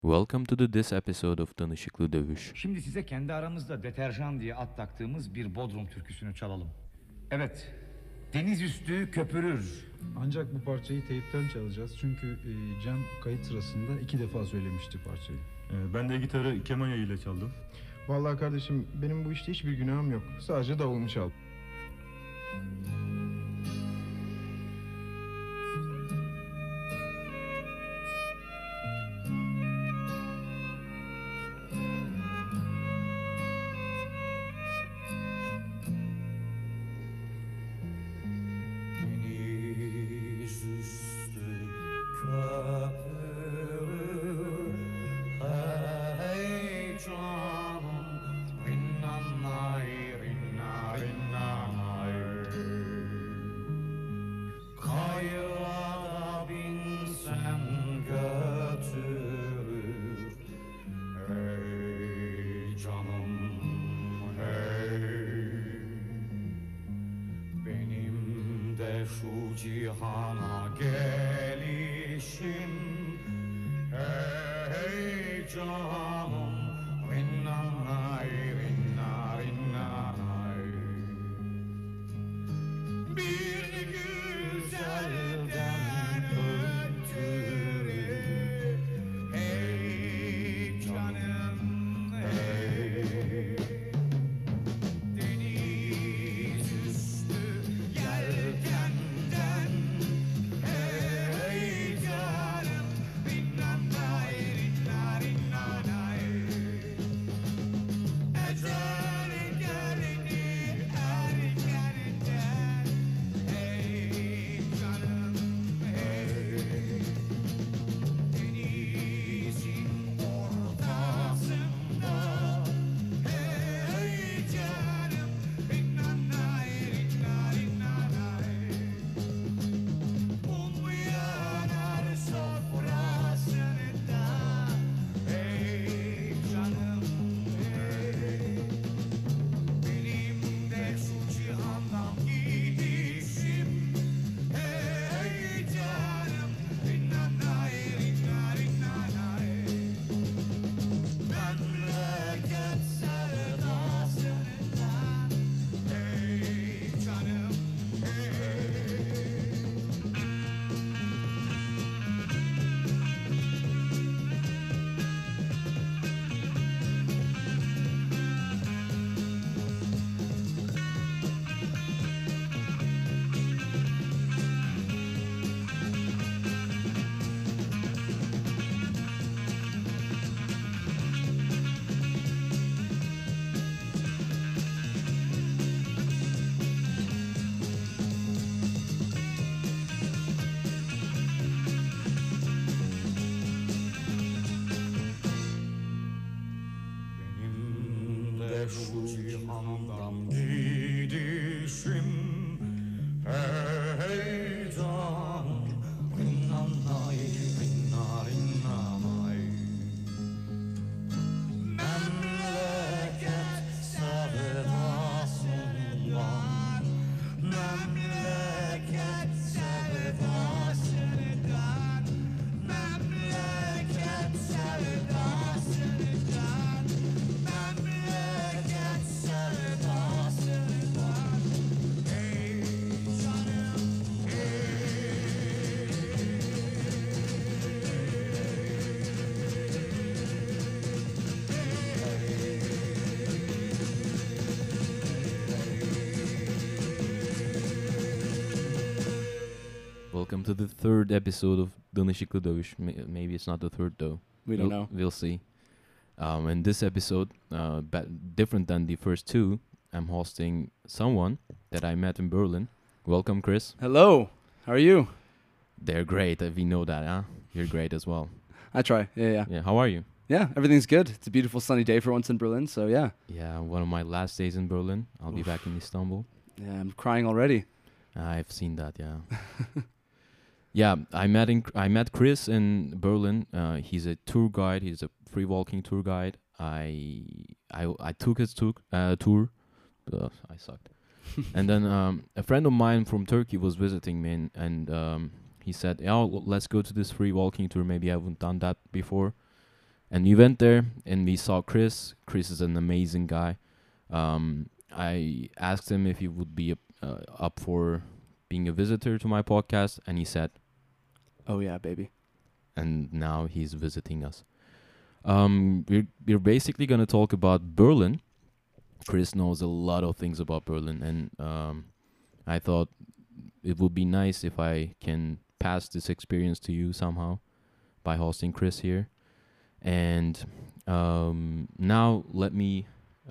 Welcome to this episode of Danışıklı Dövüş. Şimdi size kendi aramızda deterjan diye ad taktığımız bir Bodrum türküsünü çalalım. Evet, deniz üstü köpürür. Ancak bu parçayı teypten çalacağız çünkü Cem kayıt sırasında 2 defa söylemişti parçayı. Ben de gitarı keman yayıyla çaldım. Vallahi kardeşim benim bu işte hiçbir günahım yok. Sadece davulumu çaldım. Deniz üstü köpürür, hey canım, rinnanay, rinna, rinnanay. Kayığa binsen götürür, hey canım, hey. Benim de şu cihana gelişim, hey canım, rinnanay, rinna, rinnanay. Bir güzelden ötürü, hey canım, hey. Deniz üstü yelkenden, hey canım, rinnanay, rinna, rinnanay. Ecel geldi erkenden, hey canım, hey. Denizin ortasında, hey canım, rinnanay, rinna, rinnanay. Mum yanar sofrasında, hey canım, hey. Benim de şu cihandan gidişim, hey canım, rinnanay, rinna, rinnanay. Memleket sevdasından, hey canım, hey. Benim de şu cihandan gidişim, hey canım, rinnanay, rinna, rinnanay. Memleket sevdasından, memleket sevdasından, memleket sevdasından, memleket sevdasından, hey canım, Welcome to the third episode of Danışıklı Dövüş. Maybe it's not the third though. We don't know. We'll see. In this episode, different than the first two, I'm hosting someone that I met in Berlin. Welcome, Chris. Hello. How are you? They're great. We know that, huh? You're great as well. I try. Yeah. Yeah. How are you? Yeah, everything's good. It's a beautiful sunny day for once in Berlin, so yeah. Yeah. One of my last days in Berlin. I'll be back in Istanbul. Yeah, I'm crying already. I've seen that. Yeah. Yeah, I met Chris in Berlin. He's a tour guide. He's a free walking tour guide. I took his tour. I sucked. And then a friend of mine from Turkey was visiting me, and he said, "Oh, let's go to this free walking tour. Maybe I haven't done that before." And we went there and we saw Chris. Chris is an amazing guy. I asked him if he would be up for being a visitor to my podcast, and he said, Oh yeah, baby. and now he's visiting us. We're basically gonna talk about Berlin. Chris knows a lot of things about Berlin, and I thought it would be nice if I can pass this experience to you somehow by hosting Chris here. And now let me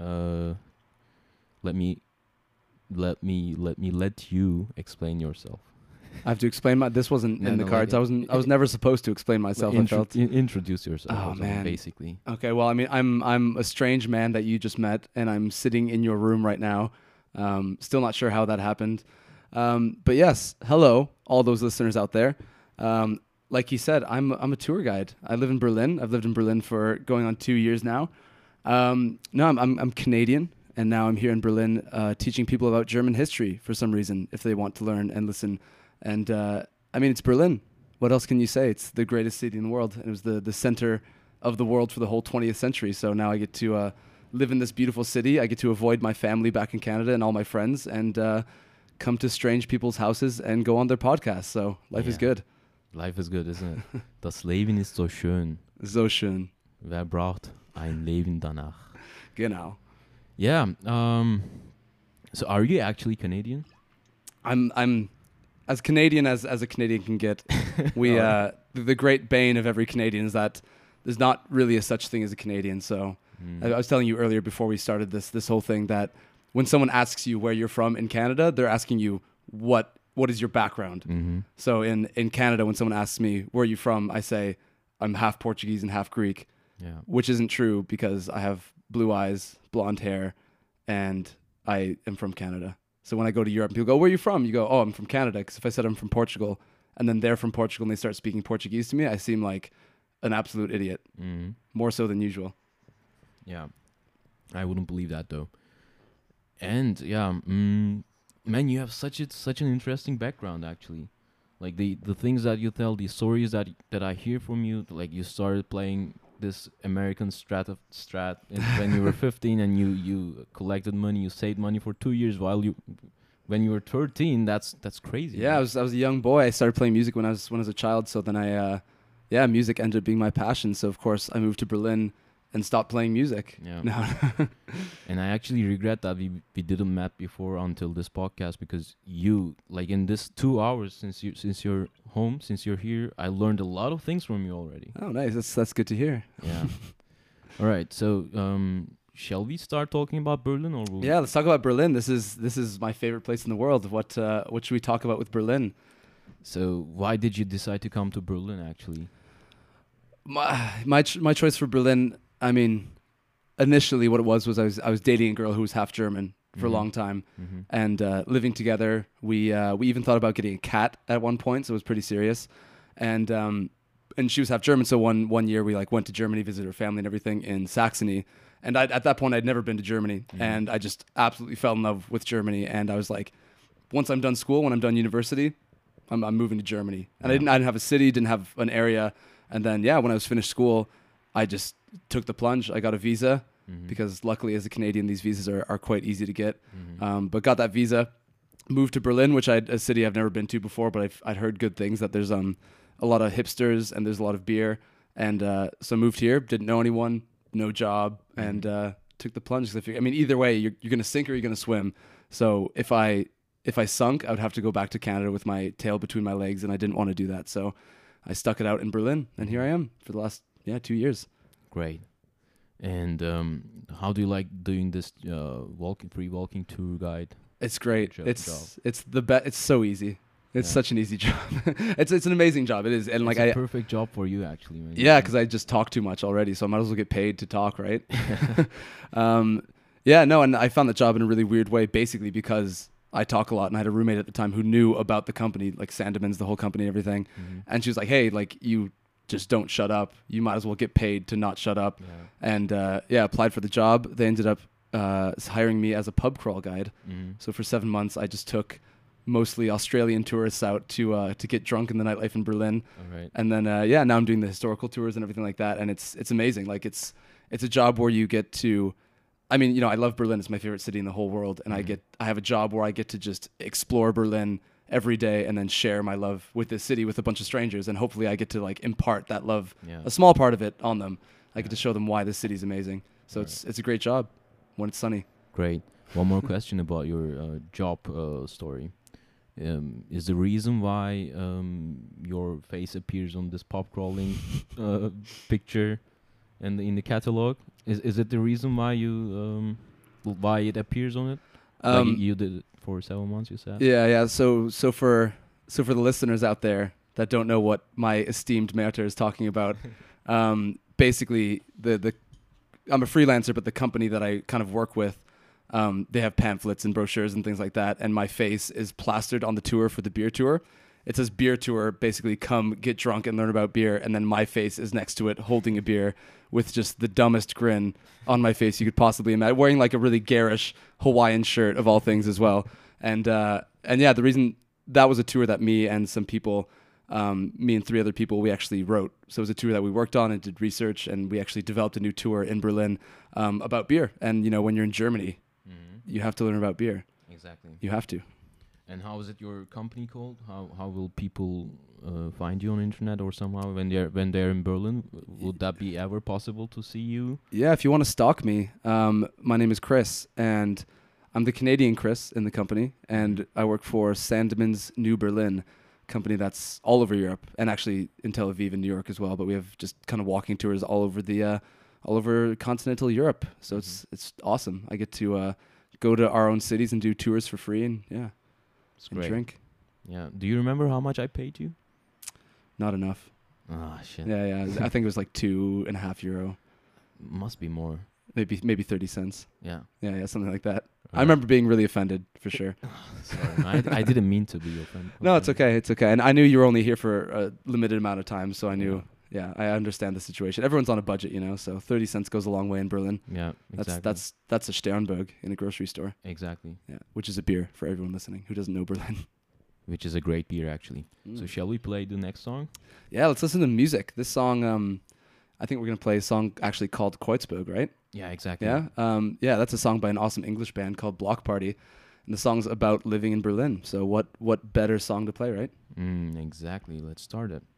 let you explain yourself. I have to explain this wasn't No, in the no, cards. like- I was never supposed to explain myself. I felt. Introduce yourself. Oh, or something, man. Basically. Okay, well, I mean, I'm a strange man that you just met, and I'm sitting in your room right now. Still not sure how that happened. But yes, hello, all those listeners out there. Like you said, I'm a tour guide. I live in Berlin. I've lived in Berlin for going on 2 years now. No, I'm Canadian, and now I'm here in Berlin teaching people about German history for some reason, if they want to learn and listen. And I mean, it's Berlin. What else can you say? It's the greatest city in the world. And it was the center of the world for the whole 20th century. So now I get to live in this beautiful city. I get to avoid my family back in Canada and all my friends, and come to strange people's houses and go on their podcasts. So life is Yeah. good. Life is good, isn't it? Das Leben ist so schön. So schön. Wer braucht ein Leben danach? Genau. Yeah. So are you actually Canadian? I'm as Canadian as a Canadian can get. We the great bane of every Canadian is that there's not really a such thing as a Canadian. So I was telling you earlier before we started this whole thing that when someone asks you where you're from in Canada, they're asking you what is your background. Mm-hmm. So in Canada, when someone asks me where are you from, I say I'm half Portuguese and half Greek, Yeah. which isn't true because I have blue eyes, blonde hair, and I am from Canada. So when I go to Europe, people go, where are you from? You go, oh, I'm from Canada. Because if I said I'm from Portugal, and then they're from Portugal and they start speaking Portuguese to me, I seem like an absolute idiot, Mm-hmm. more so than usual. Yeah. I wouldn't believe that though. And yeah, man, you have such an interesting background actually. Like the things that you tell, the stories that I hear from you, like you started playing this American strat when you were 15, and you collected money, you saved money for 2 years when you were 13. That's crazy. Yeah, man. I was a young boy. I started playing music when I was a child. So then music ended up being my passion. So of course I moved to Berlin and stopped playing music. Yeah. No. And I actually regret that we didn't met before until this podcast, because you, like, in this 2 hours since you're home, since you're here, I learned a lot of things from you already. Oh, nice. That's good to hear. Yeah. All right. So shall we start talking about Berlin, or will Yeah, let's talk about Berlin. This is my favorite place in the world. What should we talk about with Berlin? So why did you decide to come to Berlin actually? My choice for Berlin, I mean, initially what it was I was dating a girl who was half German for a Mhm. long time, Mm-hmm. and living together. We even thought about getting a cat at one point, so it was pretty serious. And she was half German, so one year we went to Germany, visited her family and everything in Saxony. And at that point I'd never been to Germany, and I just absolutely fell in love with Germany. And I was like, once I'm done school, when I'm done university, I'm moving to Germany. And I didn't have a city, didn't have an area. And then when I was finished school, I just took the plunge. I got a visa because luckily as a Canadian, these visas are quite easy to get. But got that visa, moved to Berlin, which a city I've never been to before, but I'd heard good things, that there's a lot of hipsters and there's a lot of beer. And so moved here, didn't know anyone, no job, and took the plunge. I mean, either way, you're going to sink or you're going to swim. So if I sunk, I would have to go back to Canada with my tail between my legs, and I didn't want to do that. So I stuck it out in Berlin, and here I am for the last 2 years. Great. And how do you like doing this free walking tour guide? It's great. Job. It's the best. It's so easy. It's Yeah. such an easy job. It's an amazing job. It is, and It's a perfect job for you actually. Man. because I just talk too much already, so I might as well get paid to talk, right? And I found that job in a really weird way, basically because I talk a lot, and I had a roommate at the time who knew about the company, like Sandemann's, the whole company and everything. And she was like, hey, like, you just don't shut up. You might as well get paid to not shut up. Yeah. And applied for the job. They ended up hiring me as a pub crawl guide. Mhm. So for 7 months, I just took mostly Australian tourists out to get drunk in the nightlife in Berlin. All right. And then now I'm doing the historical tours and everything like that, and it's amazing. Like it's a job where you get to, I mean, you know, I love Berlin. It's my favorite city in the whole world, and I have a job where I get to just explore Berlin every day and then share my love with this city with a bunch of strangers, and hopefully I get to like impart that love, Yeah. a small part of it, on them. I get to show them why this city's amazing. So it's a great job when it's sunny. Great. One more question about your job story. Is the reason why your face appears on this pop crawling picture and in the catalog? Is it the reason why you why it appears on it? Like you did it for 7 months, you said. Yeah. So for the listeners out there that don't know what my esteemed Merter is talking about, basically I'm a freelancer, but the company that I kind of work with, they have pamphlets and brochures and things like that, and my face is plastered on the tour for the beer tour. It says beer tour, basically come get drunk and learn about beer, and then my face is next to it holding a beer with just the dumbest grin on my face you could possibly imagine, wearing like a really garish Hawaiian shirt of all things as well. And yeah, the reason that was a tour that me and some people, me and 3 other people, we actually wrote. So it was a tour that we worked on and did research, and we actually developed a new tour in Berlin about beer. And you know, when you're in Germany, you have to learn about beer. Exactly. You have to. And how is it your company called? How will people find you on internet or somehow when they're in Berlin? Would that be ever possible to see you? Yeah, if you want to stalk me, my name is Chris, and I'm the Canadian Chris in the company, and I work for Sandemann's New Berlin, company that's all over Europe, and actually in Tel Aviv and New York as well. But we have just kind of walking tours all over continental Europe. So it's awesome. I get to go to our own cities and do tours for free, and It's and great. drink. Yeah. Do you remember how much I paid you? Not enough. Ah, shit. Yeah. I think it was like €2.50, Must be more. maybe 30 cents. Yeah. Yeah, something like that. I remember being really offended for sure. Sorry, I didn't mean to be offended. No, it's okay. It's okay. And I knew you were only here for a limited amount of time, so I knew. Yeah, I understand the situation. Everyone's on a budget, you know. So 30 cents goes a long way in Berlin. Yeah, exactly. That's a Sternberg in a grocery store. Exactly. Yeah, which is a beer for everyone listening who doesn't know Berlin. Which is a great beer, actually. So shall we play the next song? Yeah, let's listen to music. This song, I think we're gonna play a song actually called Kreuzberg, right? Yeah, exactly. Yeah, that's a song by an awesome English band called Block Party, and the song's about living in Berlin. So what better song to play, right? Exactly. Let's start it.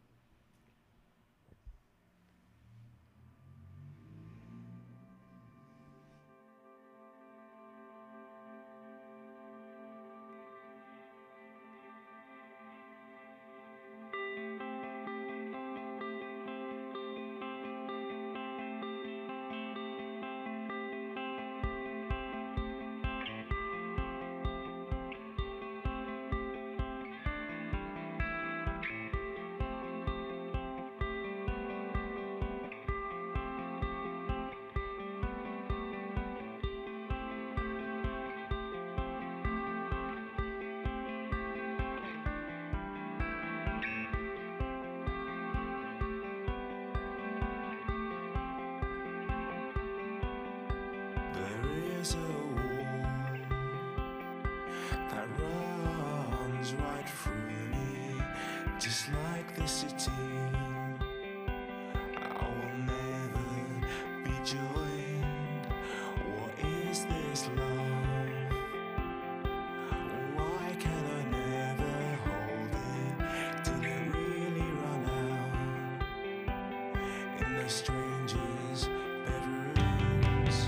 There is a wall that runs right through me, just like the city. I will never be joined. What is this love? Why can I never hold it? Did it really run out in the strangers' bedrooms?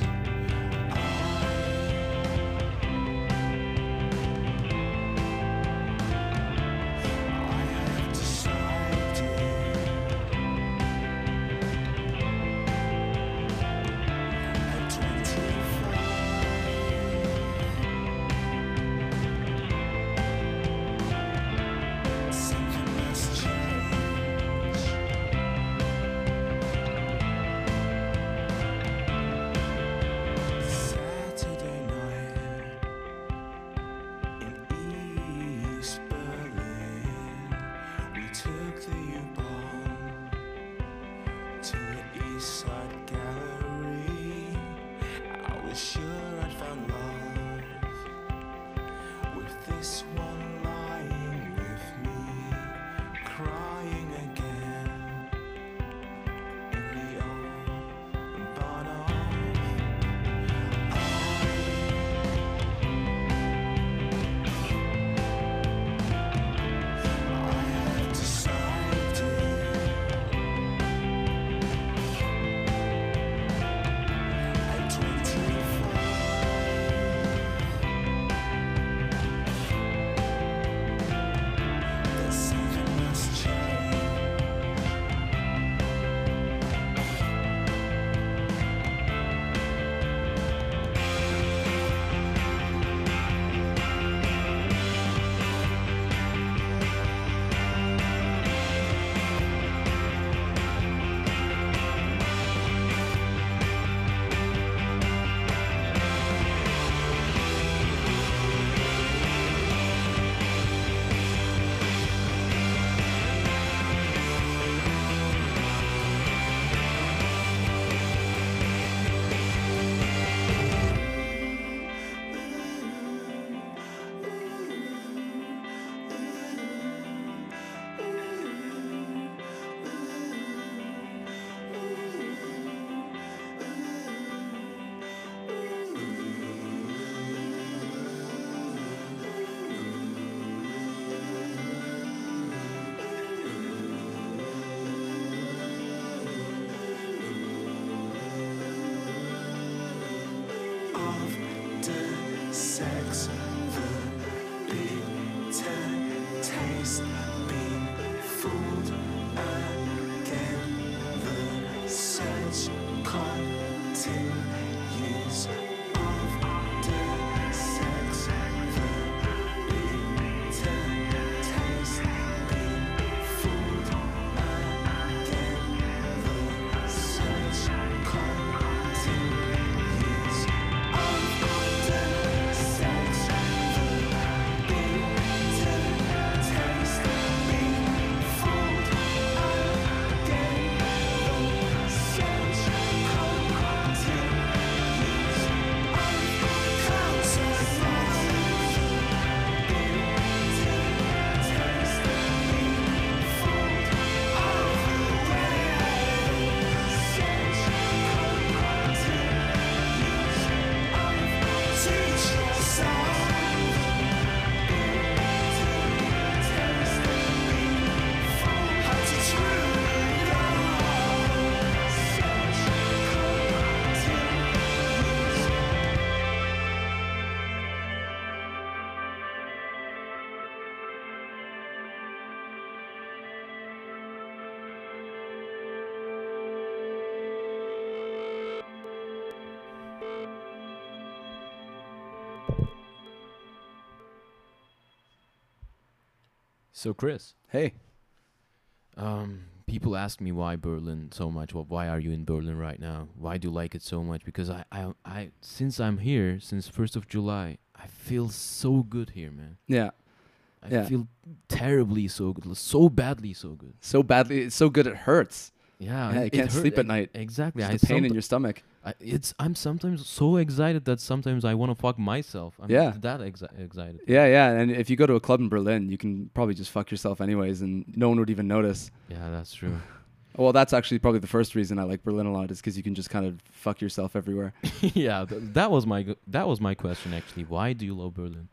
I have decided at 25 something must change. So Chris, Hey. people ask me why Berlin so much. Well, why are you in Berlin right now? Why do you like it so much? Because I since I'm here since 1st of July, I feel so good here, man. Yeah. I Yeah. feel terribly so good, so badly so good. So badly. It's so good it hurts. Yeah, Yeah, you it can't hurt- sleep at night. Exactly. Just the pain in your stomach. I'm sometimes so excited that sometimes I want to fuck myself. I'm Yeah. that excited. Yeah, yeah. And if you go to a club in Berlin, you can probably just fuck yourself anyways, and no one would even notice. Yeah, that's true. Well, that's actually probably the first reason I like Berlin a lot, is because you can just kind of fuck yourself everywhere. Yeah, that was my question actually. Why do you love Berlin?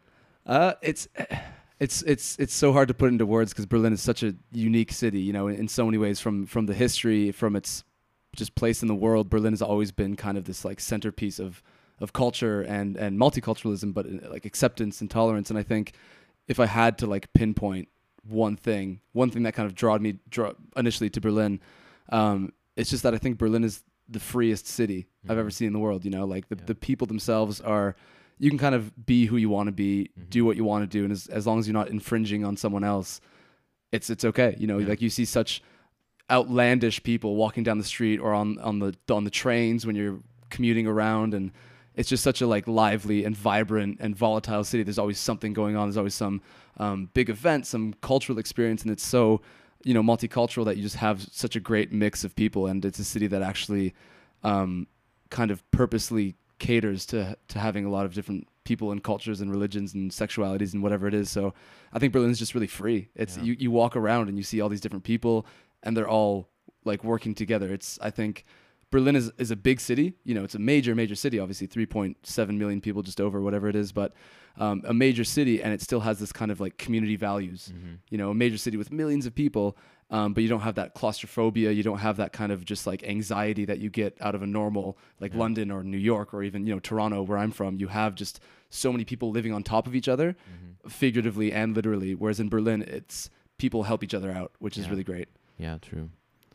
It's so hard to put into words because Berlin is such a unique city, you know, in so many ways, from the history, from its just place in the world. Berlin has always been kind of this like centerpiece of culture and multiculturalism, but like acceptance and tolerance. And I think if I had to like pinpoint one thing that kind of drew initially to Berlin, it's just that I think Berlin is the freest city I've ever seen in the world. You know, like the people themselves are, you can kind of be who you want to be, do what you want to do, and as long as you're not infringing on someone else, it's okay. You know, like you see such outlandish people walking down the street or on the trains when you're commuting around, and it's just such a like lively and vibrant and volatile city. There's always something going on. There's always some big event, some cultural experience, and it's so, you know, multicultural that you just have such a great mix of people. And it's a city that actually kind of purposely caters to having a lot of different people and cultures and religions and sexualities and whatever it is. So I think Berlin is just really free. It's you walk around and you see all these different people, and they're all like working together. I think Berlin is a big city. You know, it's a major city, obviously 3.7 million people, just over, whatever it is, but a major city, and it still has this kind of like community values. You know, a major city with millions of people, but you don't have that claustrophobia. You don't have that kind of just like anxiety that you get out of a normal like London or New York or even, you know, Toronto, where I'm from. You have just so many people living on top of each other, figuratively and literally. Whereas in Berlin, it's people help each other out, which is really great. Yeah, true.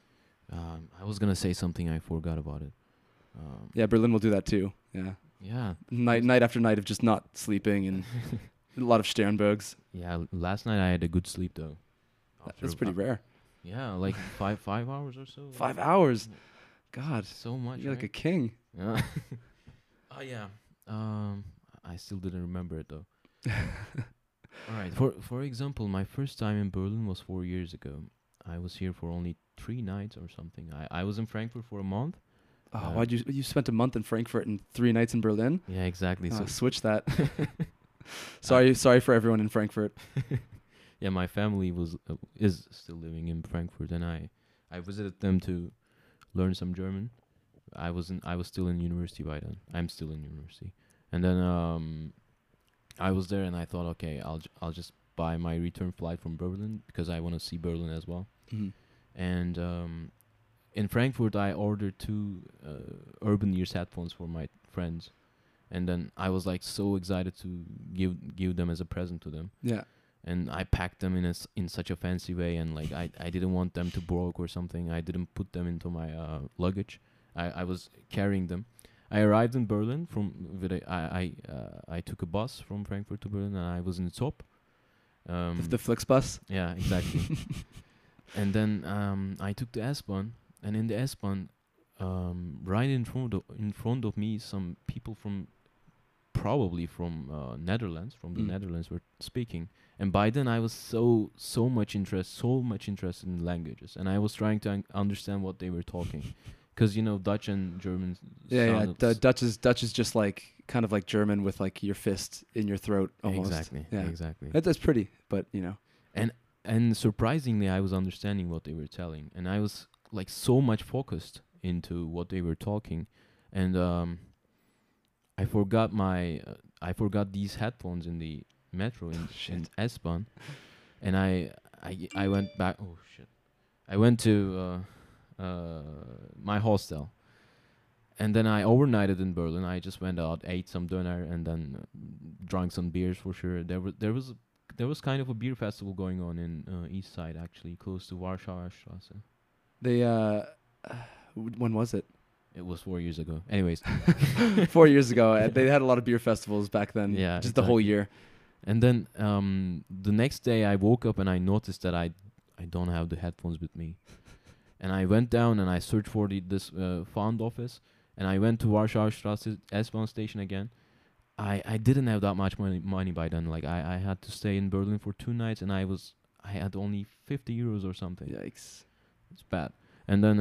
I was gonna say something, I forgot about it. Yeah, Berlin will do that too. Yeah, Yeah. night after night of just not sleeping and a lot of Sternbergs. Yeah. Last night I had a good sleep though. That's pretty rare. Yeah, like 5 hours or so. 5 hours. God, So much. you're like a right? king. Yeah. Oh yeah. I still didn't remember it though. All right. For example, my first time in Berlin was 4 years ago. I was here for only 3 nights or something. I was in Frankfurt for a month. Oh, why'd you spent a month in Frankfurt and 3 nights in Berlin? Yeah, exactly. Oh, So switch that. Sorry for everyone in Frankfurt. yeah, my family is still living in Frankfurt, and I visited them to learn some German. I was still in university by then. I'm still in university, and then I was there, and I thought, okay, I'll just buy my return flight from Berlin because I want to see Berlin as well. And in Frankfurt, I ordered 2 Urban Ears headphones for my friends, and then I was like so excited to give them as a present to them. Yeah. And I packed them in such a fancy way, and like I didn't want them to broke or something. I didn't put them into my luggage. I was carrying them. I arrived in Berlin I took a bus from Frankfurt to Berlin, and I was in Zopp. The Flixbus. Yeah, exactly. And then I took the S-Bahn, and in the S-Bahn, right in front of me, some people probably from Netherlands, the Netherlands, were speaking. And by then I was so much interested in languages, and I was trying to understand what they were talking, because you know Dutch and German. Yeah. Dutch is just like kind of like German with like your fist in your throat almost. Exactly. Yeah. Exactly. That's pretty, but you know. And surprisingly, I was understanding what they were telling, and I was like so much focused into what they were talking, and I forgot these headphones in the metro in S-Bahn, and I went back. Oh shit! I went to my hostel, and then I overnighted in Berlin. I just went out, ate some dinner, and then drank some beers for sure. There was kind of a beer festival going on in East Side, actually, close to Warschauer Straße. They when was it? It was 4 years ago. Anyways. 4 years ago. They had a lot of beer festivals back then. Yeah, just the whole year. And then the next day I woke up and I noticed that I don't have the headphones with me. And I went down and I searched for this fund office, and I went to Warschauer Straße S-Bahn station again. I didn't have that much money by then. Like I had to stay in Berlin for 2 nights, and I had only 50 euros or something. Yikes. It's bad. And then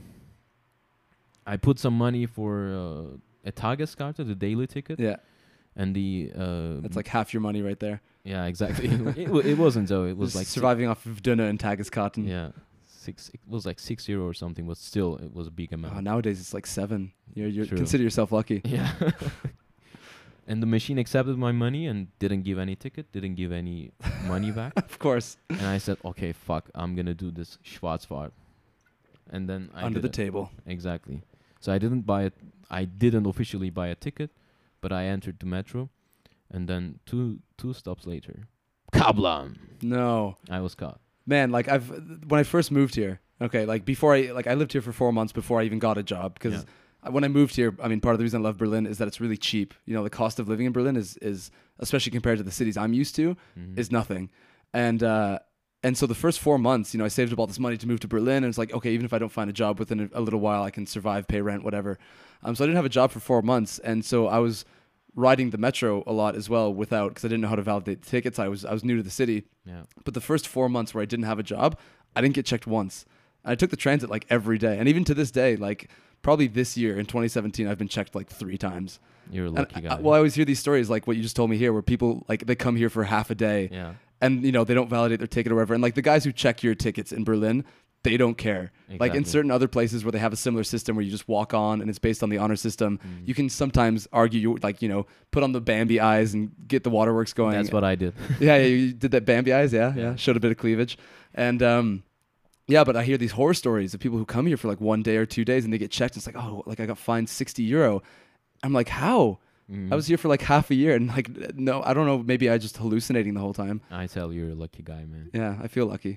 I put some money for a Tageskarte, the daily ticket, Yeah. and the That's like half your money right there. yeah, exactly. it wasn't though. It was Just like surviving off of Döner and Tageskarten. Yeah, 6. It was like €6 or something, but still, it was a big amount. Oh, nowadays it's like 7. You True. consider yourself lucky. Yeah. And the machine accepted my money and didn't give any ticket, didn't give any money back. Of course. And I said, okay, fuck, I'm gonna do this Schwarzfahrt. And then I Under did the it. table. Exactly. So I didn't buy it. I didn't officially buy a ticket, but I entered the metro, and then two stops later, kablam! No. I was caught. Man, like when I first moved here, okay, like before I lived here for 4 months before I even got a job, because when I moved here, I mean, part of the reason I love Berlin is that it's really cheap. You know, the cost of living in Berlin is especially compared to the cities I'm used to, is nothing. And so the first 4 months, you know, I saved up all this money to move to Berlin, and it's like, okay, even if I don't find a job within a little while, I can survive, pay rent, whatever. So I didn't have a job for 4 months, and so I was riding the metro a lot as well because I didn't know how to validate the tickets. I was new to the city. Yeah. But the first 4 months where I didn't have a job, I didn't get checked once. I took the transit like every day, and even to this day, like probably this year in 2017, I've been checked like 3 times. You're a lucky guy. Well, I always hear these stories like what you just told me here, where people like they come here for half a day, and you know they don't validate their ticket or whatever. And like the guys who check your tickets in Berlin, they don't care. Like in certain other places where they have a similar system where you just walk on and it's based on the honor system, you can sometimes argue you put on the Bambi eyes and get the waterworks going. That's what I did. Yeah, you did that Bambi eyes, yeah. Showed a bit of cleavage. And yeah, but I hear these horror stories of people who come here for like 1 day or 2 days and they get checked. It's like, oh, like I got fined €60. I'm like, how? I was here for like half a year, and like, no, I don't know. Maybe I just hallucinating the whole time. I tell you're a lucky guy, man. Yeah, I feel lucky.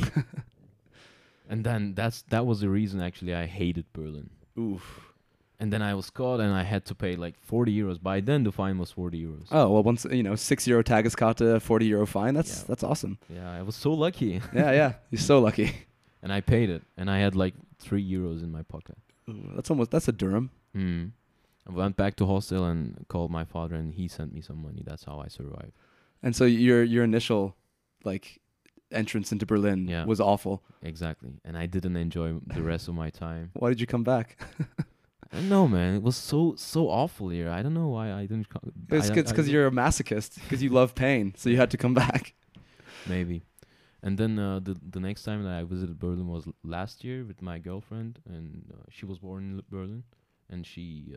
And then that was the reason actually I hated Berlin. Oof. And then I was caught and I had to pay like €40. By then the fine was €40. Oh, well, once, €6 Tageskarte, €40 fine. That's awesome. Yeah, I was so lucky. Yeah. You're so lucky. And I paid it, and I had like €3 in my pocket. Ooh, that's a dirham. I went back to hostel and called my father, and he sent me some money. That's how I survived. And so your initial like entrance into Berlin was awful. Exactly. And I didn't enjoy the rest of my time. Why did you come back? I don't know, man. It was so awful here. I don't know why I didn't come. It's because you're a masochist, because you love pain, so you had to come back. Maybe. And then the next time that I visited Berlin was last year with my girlfriend, and she was born in Berlin, and she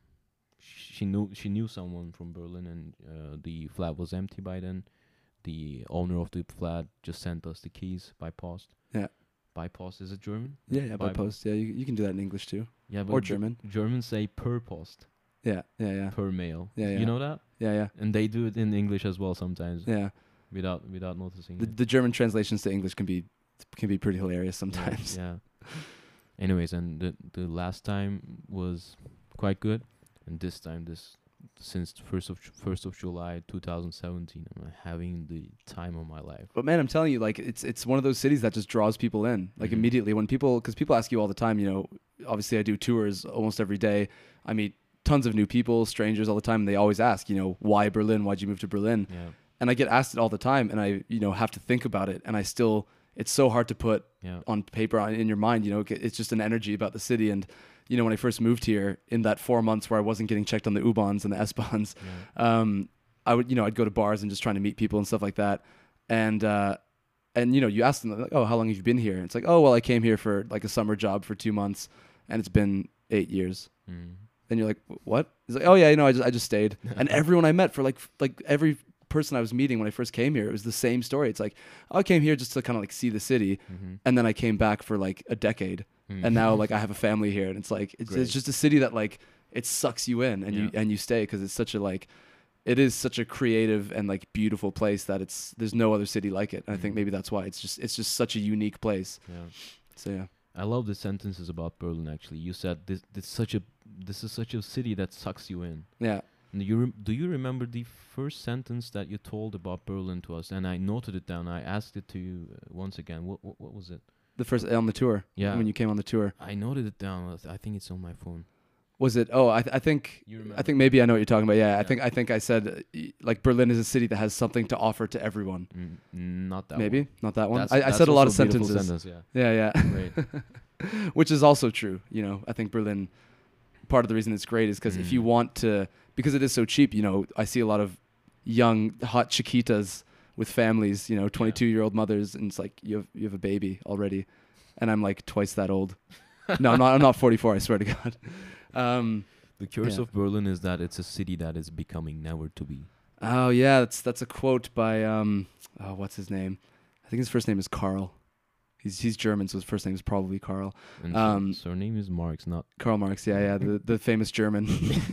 knew someone from Berlin, and the flat was empty by then. The owner of the flat just sent us the keys by post. Yeah. By post, is it German? Yeah, by post. Yeah, you can do that in English too. Yeah, but or German. Germans say per post. Yeah. Per mail. Yeah. You know that? Yeah. And they do it in English as well sometimes. Yeah. Without noticing. The German translations to English can be pretty hilarious sometimes. Yeah. Anyways, and the last time was quite good, and this time since first of July 2017, I'm having the time of my life. But man, I'm telling you, like it's one of those cities that just draws people in. Like immediately when because people ask you all the time, obviously I do tours almost every day. I meet tons of new people, strangers all the time, and they always ask, why Berlin? Why'd you move to Berlin? Yeah. And I get asked it all the time, and I, have to think about it, and I still, it's so hard to put on paper in your mind. It's just an energy about the city. And when I first moved here, in that 4 months where I wasn't getting checked on the U-Bahns and the S-Bahns, I would, I'd go to bars and just trying to meet people and stuff like that. And you ask them, like, oh, how long have you been here? And it's like, oh, well, I came here for like a summer job for 2 months, and it's been 8 years. And you're like, what? It's like, oh yeah, I just stayed. And everyone I met for like every person I was meeting when I first came here, it was the same story. It's like, oh, I came here just to kind of like see the city, and then I came back for like a decade, and now like I have a family here, and it's like it's just a city that like it sucks you in, and you stay because it's such a like it is such a creative and like beautiful place that there's no other city like it. And I think maybe that's why it's just such a unique place. Yeah. So yeah. I love the sentences about Berlin. Actually, you said this is such a city that sucks you in. Yeah. Do you remember the first sentence that you told about Berlin to us? And I noted it down. I asked it to you once again. What was it? The first on the tour. Yeah. When you came on the tour. I noted it down. I think it's on my phone. Was it? Oh, I think. You remember? I think maybe I know what you're talking about. Yeah, Yeah. I think I said like Berlin is a city that has something to offer to everyone. Not that Maybe one. not that one. That's I said a lot of also beautiful sentences. sentence, Yeah, yeah. Great. Which is also true. You know, I think Berlin. Part of the reason it's great is because if you want to, because it is so cheap. You know, I see a lot of young hot chiquitas with families. You know, 22-year-old mothers, and it's like you have a baby already, and I'm like twice that old. No, I'm not 44. I swear to God. The curse Yeah. of Berlin is that it's a city that is becoming never to be. Oh yeah, that's a quote by what's his name? I think his first name is Karl. He's German, so his first name is probably Karl. And surname is Marx, not Karl Marx, yeah, the famous German.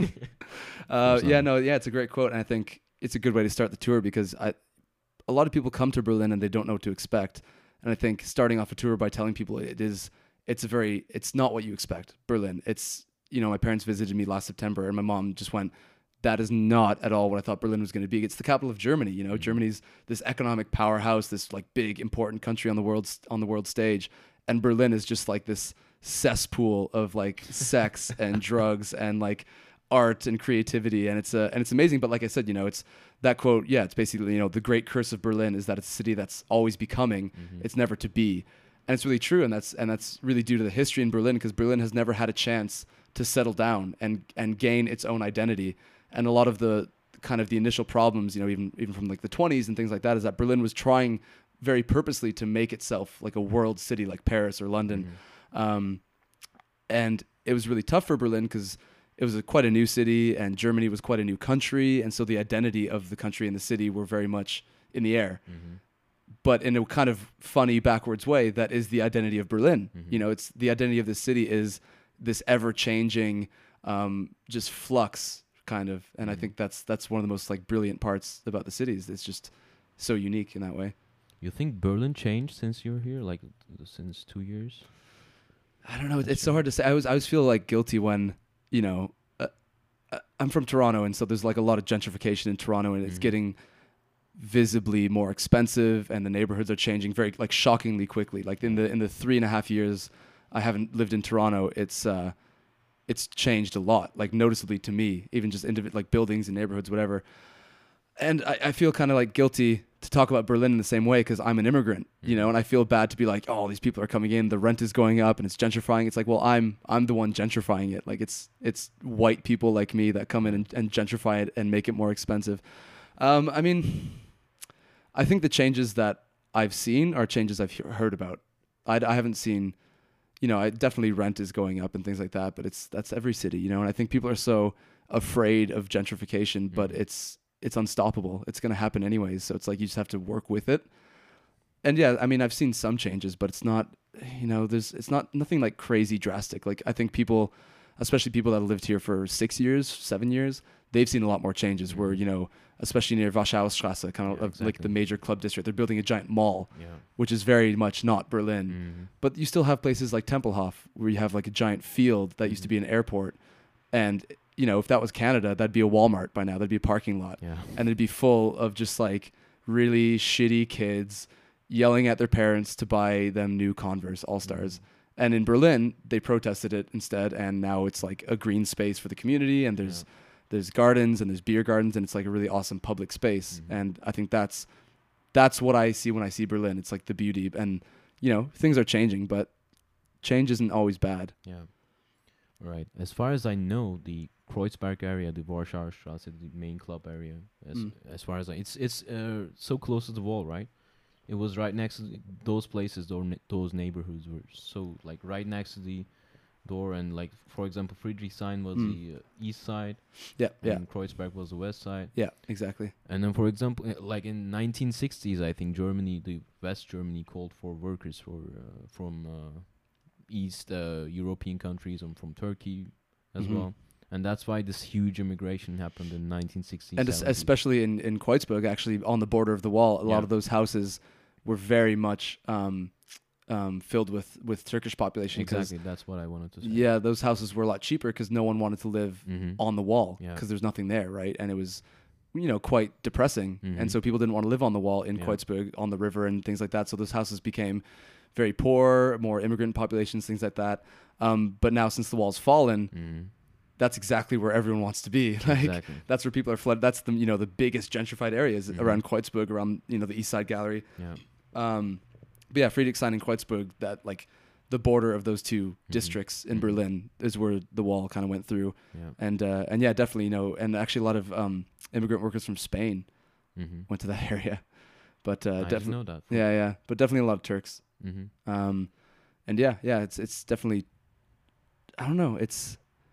It's a great quote, and I think it's a good way to start the tour because a lot of people come to Berlin and they don't know what to expect, and I think starting off a tour by telling people it's not what you expect. Berlin, it's my parents visited me last September, and my mom just went, that is not at all what I thought Berlin was going to be. It's the capital of Germany. You know, Germany's this economic powerhouse, this like big important country on the world stage, and Berlin is just like this cesspool of like sex and drugs and like art and creativity, and it's amazing. But like I said, it's that quote. Yeah, it's basically the great curse of Berlin is that it's a city that's always becoming. It's never to be, and it's really true. And that's really due to the history in Berlin, because Berlin has never had a chance to settle down and gain its own identity. And a lot of the kind of the initial problems, even from like the 20s and things like that, is that Berlin was trying very purposely to make itself like a world city like Paris or London. And it was really tough for Berlin because it was quite a new city and Germany was quite a new country. And so the identity of the country and the city were very much in the air. But in a kind of funny backwards way, that is the identity of Berlin. It's the identity of this city is this ever-changing just flux kind of, and I think that's one of the most like brilliant parts about the cities. It's just so unique in that way. You think Berlin changed since you're here, like since 2 years? I don't know. It's so hard to say. I always feel like guilty when I'm from Toronto, and so there's like a lot of gentrification in Toronto, and it's getting visibly more expensive, and the neighborhoods are changing very like shockingly quickly. Like in the 3.5 years I haven't lived in Toronto, it's changed a lot, like noticeably to me, even just like buildings and neighborhoods, whatever. And I feel kind of like guilty to talk about Berlin in the same way because I'm an immigrant, and I feel bad to be like, oh, these people are coming in, the rent is going up and it's gentrifying. It's like, well, I'm the one gentrifying it. Like it's white people like me that come in and gentrify it and make it more expensive. I mean, I think the changes that I've seen are changes I've heard about. I haven't seen... definitely rent is going up and things like that, but that's every city, and I think people are so afraid of gentrification, but it's unstoppable. It's going to happen anyways. So it's like, you just have to work with it. And yeah, I mean, I've seen some changes, but it's not, it's not nothing like crazy drastic. Like I think people, especially people that have lived here for 6 years, 7 years, they've seen a lot more changes where, especially near Warschaustrasse, kind of like the major club district, they're building a giant mall, which is very much not Berlin. But you still have places like Tempelhof where you have like a giant field that used to be an airport. And, if that was Canada, that'd be a Walmart by now. That'd be a parking lot. And it'd be full of just like really shitty kids yelling at their parents to buy them new Converse All-Stars. And in Berlin, they protested it instead. And now it's like a green space for the community. And there's gardens and there's beer gardens, and it's like a really awesome public space. And I think that's what I see when I see Berlin. It's like the beauty, and things are changing, but change isn't always bad. Yeah. Right. As far as I know, the Kreuzberg area, the Warschaustrasse, the main club area, as far as it's so close to the wall, right? It was right next to those places, those neighborhoods were so like right next to the door, and like for example, Friedrichshain was the east side, and Kreuzberg was the west side. Yeah, exactly. And then for example, like in 1960s, I think the West Germany called for workers from East European countries and from Turkey as well. And that's why this huge immigration happened in 1960s. And especially in Kreuzberg, actually on the border of the wall, a lot of those houses were very much filled with Turkish population. 'Cause, Exactly. That's what I wanted to say. yeah, those houses were a lot cheaper because no one wanted to live Mhm. on the wall Yeah. because there's nothing there, right? And it was, quite depressing. Mhm. And so people didn't want to live on the wall in Yeah. Kreuzberg on the river and things like that. So those houses became very poor, more immigrant populations, things like that. But now since the wall's fallen, Mhm. that's exactly where everyone wants to be. Like Exactly. that's where people are flooded. That's the biggest gentrified areas Mhm. around Kreuzberg, around the East Side Gallery. Yeah. But yeah, Friedrichshain and Kreuzberg, that like the border of those two Mhm. districts in Mhm. Berlin is where the wall kind of went through. Yeah. And yeah, definitely, and actually a lot of immigrant workers from Spain Mhm. went to that area. But I didn't definitely, know that. yeah, but definitely a lot of Turks. Mhm. And yeah, it's definitely, I don't know, it's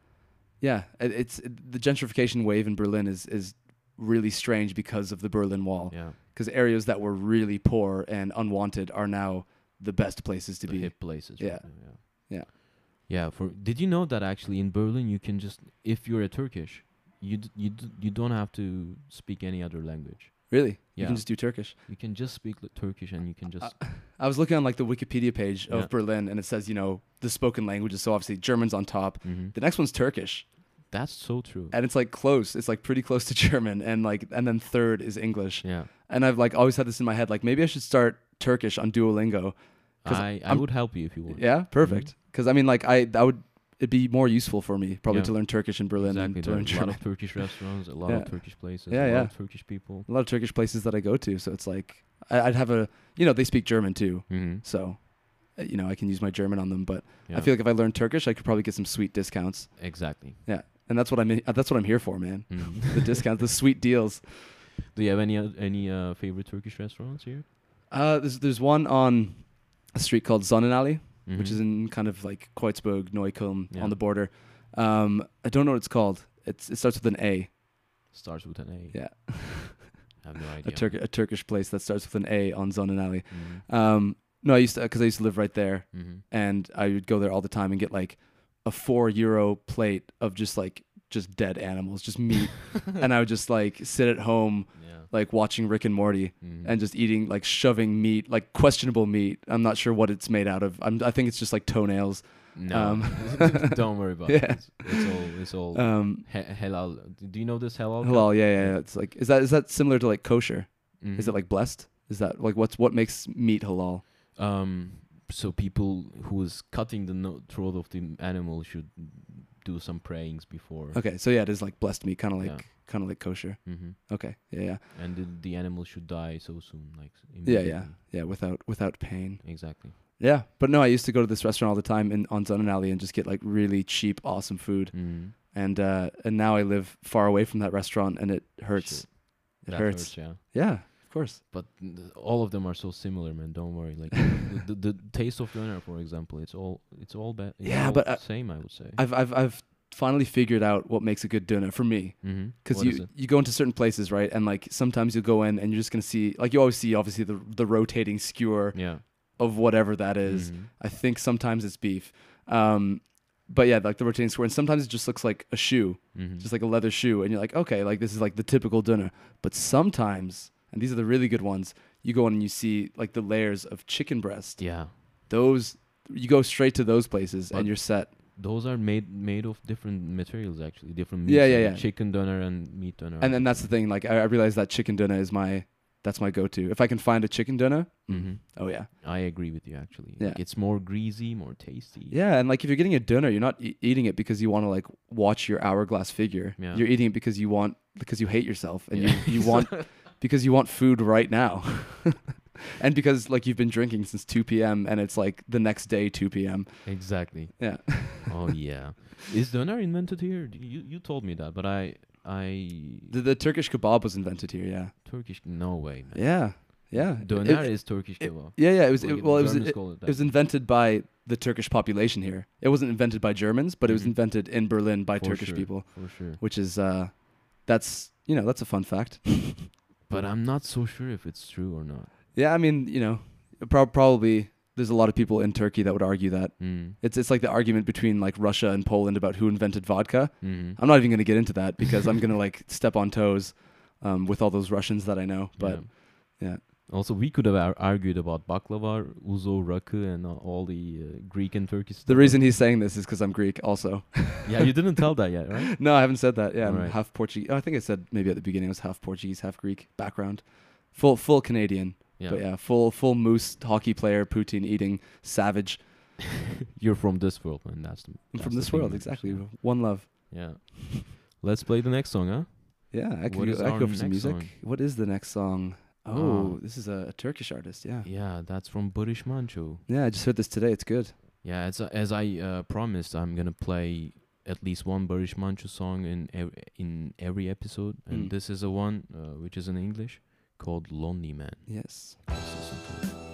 the gentrification wave in Berlin is really strange because of the Berlin Wall. Yeah. Because areas that were really poor and unwanted are now the best places to The be. hip places. Yeah. right now, Yeah. Yeah. Did you know that actually in Berlin you can just, if you're a Turkish, you don't have to speak any other language. Really? You Yeah. can just do Turkish. You can just speak Turkish and you can just. I was looking on like the Wikipedia page of Yeah. Berlin, and it says, the spoken languages. So obviously German's on top. Mhm. The next one's Turkish, That's so true. and it's like close. It's like pretty close to German, and then third is English. Yeah. And I've like always had this in my head, like maybe I should start Turkish on Duolingo. 'Cause I I'm- would help you if you want. Yeah, perfect. Because I mean, like it'd be more useful for me probably Yeah. to learn Turkish in Berlin Exactly. than to There are learn a lot German. of Turkish restaurants, a lot Yeah. of Turkish places, Yeah, a lot yeah. of Turkish people. A lot of Turkish places that I go to, so it's like I'd have they speak German too, Mm-hmm. so I can use my German on them. But Yeah. I feel like if I learned Turkish, I could probably get some sweet discounts. Exactly. Yeah, and that's what I'm here for, man. Mhm. The discounts, the sweet deals. Do you have any favorite Turkish restaurants here? There's one on a street called Sonnenallee, which Mhm. is in kind of like Kreuzberg, Neukölln Yeah. on the border. I don't know what it's called. It starts with an A. Starts with an A. Yeah, I have no idea. a Turkish place that starts with an A on Sonnenallee. Mhm. No, I used to live right there, Mhm. and I would go there all the time and get like a €4 plate of just dead animals, just meat, and I would just like sit at home Yeah. like watching Rick and Morty Mhm. and just eating like shoving meat, like questionable meat. I'm not sure what it's made out of. I think it's just like toenails. No, don't worry about Yeah. it. It's all halal. Do you know this halal? Halal, yeah. It's like is that similar to like kosher? Mhm. Is it like blessed? Is that like what makes meat halal? So people who is cutting the throat of the animal should do some prayings before. Okay, so yeah, it is like blessed meat, kind of Yeah. like kosher. Hmm. Okay, yeah. And the animal should die so soon, like Yeah, immediately. without pain. Exactly. Yeah, but no, I used to go to this restaurant all the time on Sonnenallee and just get like really cheap, awesome food. Mm. And now I live far away from that restaurant, and it hurts. Shit. It That hurts. Yeah. Yeah, of course. But all of them are so similar, man. Don't worry. Like the taste of doner, for example, it's all bad. Yeah, but, same, I would say. I've finally figured out what makes a good doner for me. Mm-hmm. Because you go into certain places, right? And like sometimes you'll go in and you're just gonna see, like you always see, obviously the rotating skewer Yeah. of whatever that is. Mhm. I think sometimes it's beef. But yeah, like the rotating square, and sometimes it just looks like a shoe, Mhm. just like a leather shoe, and you're like, okay, like this is like the typical doner. But sometimes, and these are the really good ones, you go in and you see like the layers of chicken breast. Yeah. Those you go straight to those places But and you're set. Those are made of different materials, actually, different meats. Yeah, like yeah. Chicken doner and meat doner. And then that's the thing. Like I realize that chicken doner is that's my go-to. If I can find a chicken doner, Mm-hmm. oh yeah. I agree with you, actually. Yeah. Like, it's more greasy, more tasty. Yeah, and like if you're getting a doner, you're not eating it because you want to like watch your hourglass figure. Yeah. You're eating it because you hate yourself and Yeah. you want because you want food right now. And because like you've been drinking since 2 p.m. and it's like the next day 2 p.m. Exactly. Yeah. Oh yeah. Is doner invented here? You told me that, but I The Turkish kebab was invented here, yeah. Turkish, no way, man. Yeah. Yeah. Doner It- is Turkish kebab. Yeah, it was Like, it, the well it was Germans it, call it it was that. invented by the Turkish population here. It wasn't invented by Germans, but it was Mhm. invented in Berlin by For Turkish sure, people, for sure. which is that's a fun fact. But I'm not so sure if it's true or not. Yeah, I mean, probably there's a lot of people in Turkey that would argue that. Mm. It's like the argument between like Russia and Poland about who invented vodka. Mm-hmm. I'm not even going to get into that because I'm going to like step on toes with all those Russians that I know. But yeah. Also, we could have argued about baklava, uzo, rakı, and all the Greek and Turkish stuff. The reason he's saying this is because I'm Greek also. Yeah, you didn't tell that yet, right? No, I haven't said that. Yeah, I'm Alright. half Portuguese. Oh, I think I said maybe at the beginning I was half Portuguese, half Greek background. Full Canadian. Yeah. But yeah, full moose hockey player, poutine eating savage. You're from this world, man. That's the. I'm that's from the this thing, world, man. exactly. One love. Yeah. Let's play the next song, huh? Yeah, I What could is go, I our could go for some next music. song? What is the next song? Oh, this is a Turkish artist. Yeah. Yeah, that's from Barış Manço. Yeah, I just heard this today. It's good. Yeah, as I promised, I'm gonna play at least one Barış Manço song in every episode, and Mm. this is a one which is in English called "Lonely Man." Yes. Let's listen to it.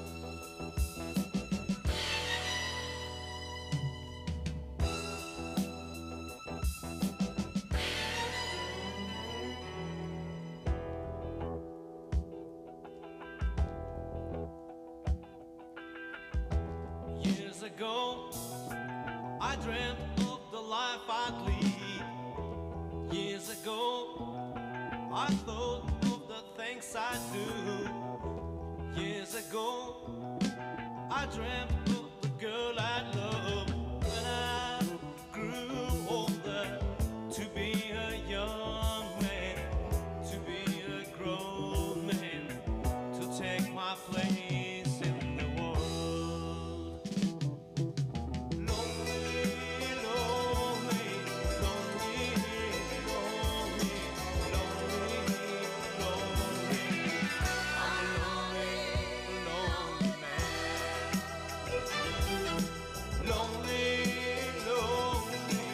Years ago, I dreamt of the life I'd lead. Years ago, I thought of the things I'd do. Years ago, I dreamt of the girl I'd love. When I grew older, to be a young man, to be a grown man, to take my place in the world. Lonely, lonely, lonely, lonely, lonely, lonely. I'm a lonely, lonely man. Lonely, lonely, lonely,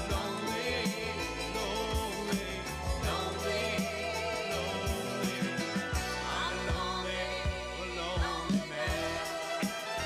lonely, lonely, lonely. I'm a lonely, lonely man.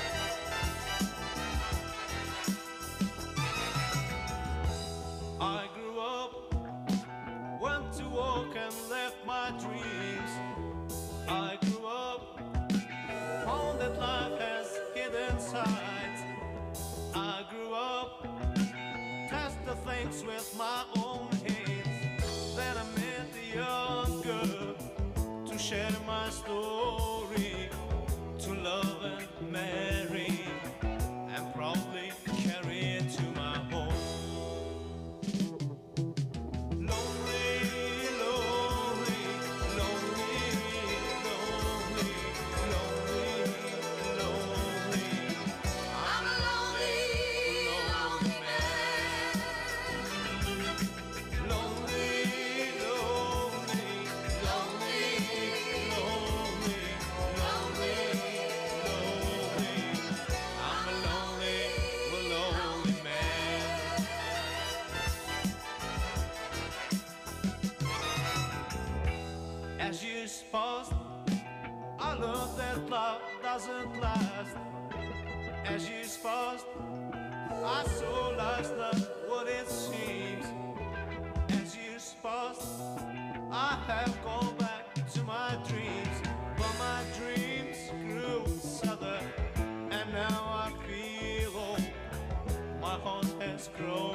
I grew up, went to work and left my dreams. I grew up, found that life has hidden sides. I grew up, test the things with my own hands. Then I met a young girl to share my story, to love and marry, and probably carry it to my home. Lonely, lonely, lonely, lonely, lonely, lonely. I'm a lonely, lonely man. Lonely, lonely, lonely, lonely, lonely, lonely. I'm a lonely, lonely man. As years passed, I learned that love doesn't last. As years passed, I saw life's not what it seems. As years passed, I have gone back to my dreams, but my dreams grew sadder, and now I feel old. My heart has grown